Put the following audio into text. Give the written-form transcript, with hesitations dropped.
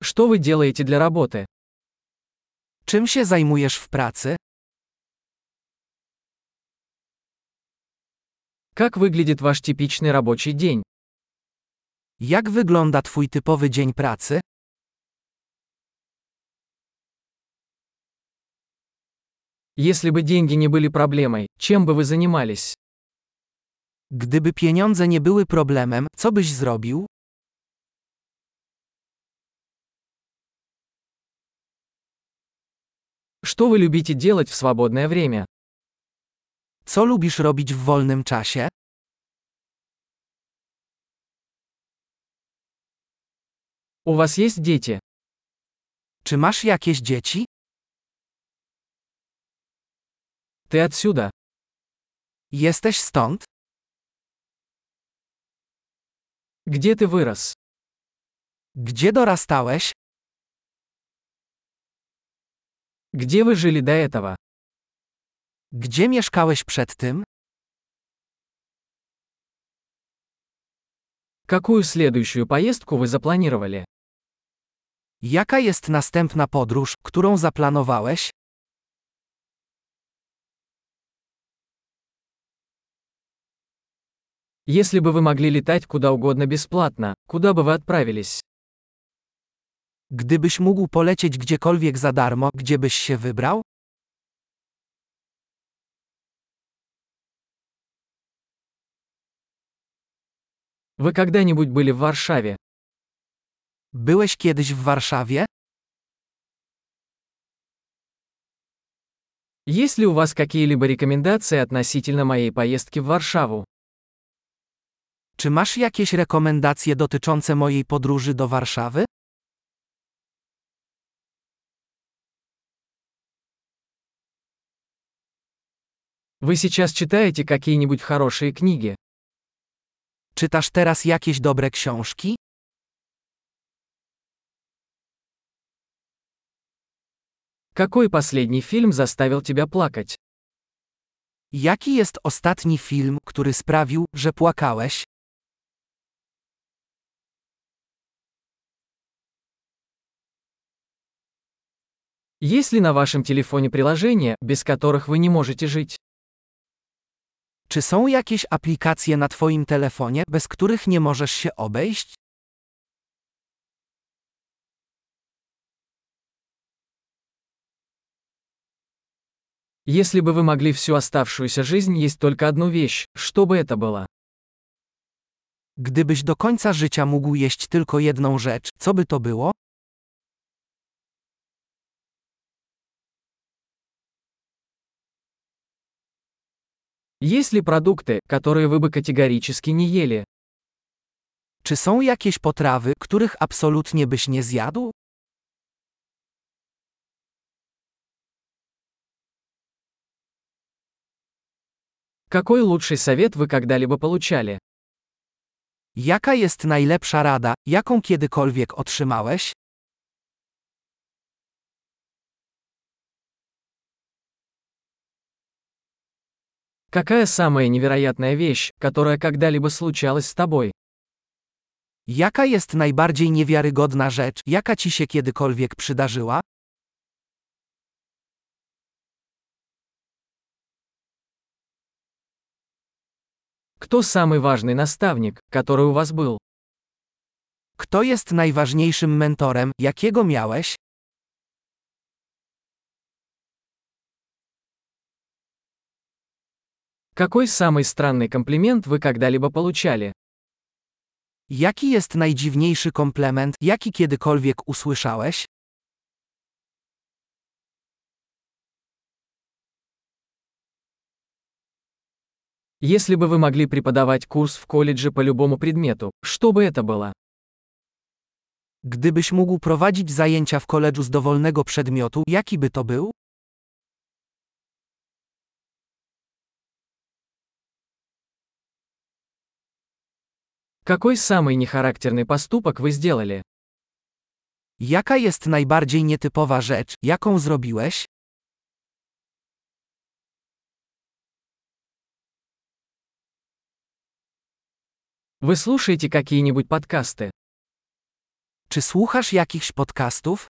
Что вы делаете для работы? Czym się zajmujesz w pracy? Как выглядит ваш типичный рабочий день? Jak wygląda twój typowy dzień pracy? Если бы деньги не были проблемой, чем бы вы занимались? Gdyby pieniądze nie były problemem, co byś zrobił? Что вы любите делать в свободное время? Co lubisz robić w wolnym czasie? У вас есть дети? Czy masz jakieś dzieci? Ты отсюда? Jesteś stąd? Где ты вырос? Gdzie dorastałeś? Где вы жили до этого? Gdzie mieszkałeś przed tym? Какую следующую поездку вы запланировали? Jaka jest następna podróż, którą zaplanowałeś? Если бы вы могли летать куда угодно бесплатно, куда бы вы отправились? Gdybyś mógł polecieć gdziekolwiek za darmo, gdzie byś się wybrał? Вы когда-нибудь были в Варшаве? Byłeś kiedyś w Warszawie? Есть ли у вас какие-либо рекомендации относительно моей поездки в Варшаву? Czy masz jakieś rekomendacje dotyczące mojej podróży do Warszawy? Вы сейчас читаете какие-нибудь хорошие книги? Czytasz teraz jakieś dobre książki? Какой последний фильм заставил тебя плакать? Jaki jest ostatni film, który sprawił, że płakałeś? Есть ли на вашем телефоне приложения, без которых вы не можете жить? Czy są jakieś aplikacje na twoim telefonie, bez których nie możesz się obejść? Если бы вы могли всю оставшуюся жизнь есть только одну вещь, что бы это было? Gdybyś do końca życia mógł jeść tylko jedną rzecz, co by to było? Есть ли продукты, которые вы бы категорически не ели? Czy są jakieś potrawy, których absolutnie byś nie zjadł? Какой лучший совет вы когда-либо получали? Jaka jest najlepsza rada, jaką kiedykolwiek otrzymałeś? Какая самая невероятная вещь, которая когда-либо случалась с тобой? Jaka jest najbardziej niewiarygodna rzecz, jaka ci się kiedykolwiek przydarzyła? Кто самый важный наставник, который у вас был? Kto jest najważniejszym mentorem, jakiego miałeś? Какой самый странный комплимент вы когда-либо получали? Jaki jest najdziwniejszy komplement, jaki kiedykolwiek usłyszałeś? Если бы вы могли преподавать курс в колледже по любому предмету, что бы это было? Gdybyś mógł prowadzić zajęcia w koledżu z dowolnego przedmiotu, jaki by to był? Какой самый нехарактерный поступок вы сделали? Jaka jest najbardziej nietypowa rzecz, jaką zrobiłeś? Вы слушаете какие-нибудь подкасты? Czy słuchasz jakichś podcastów?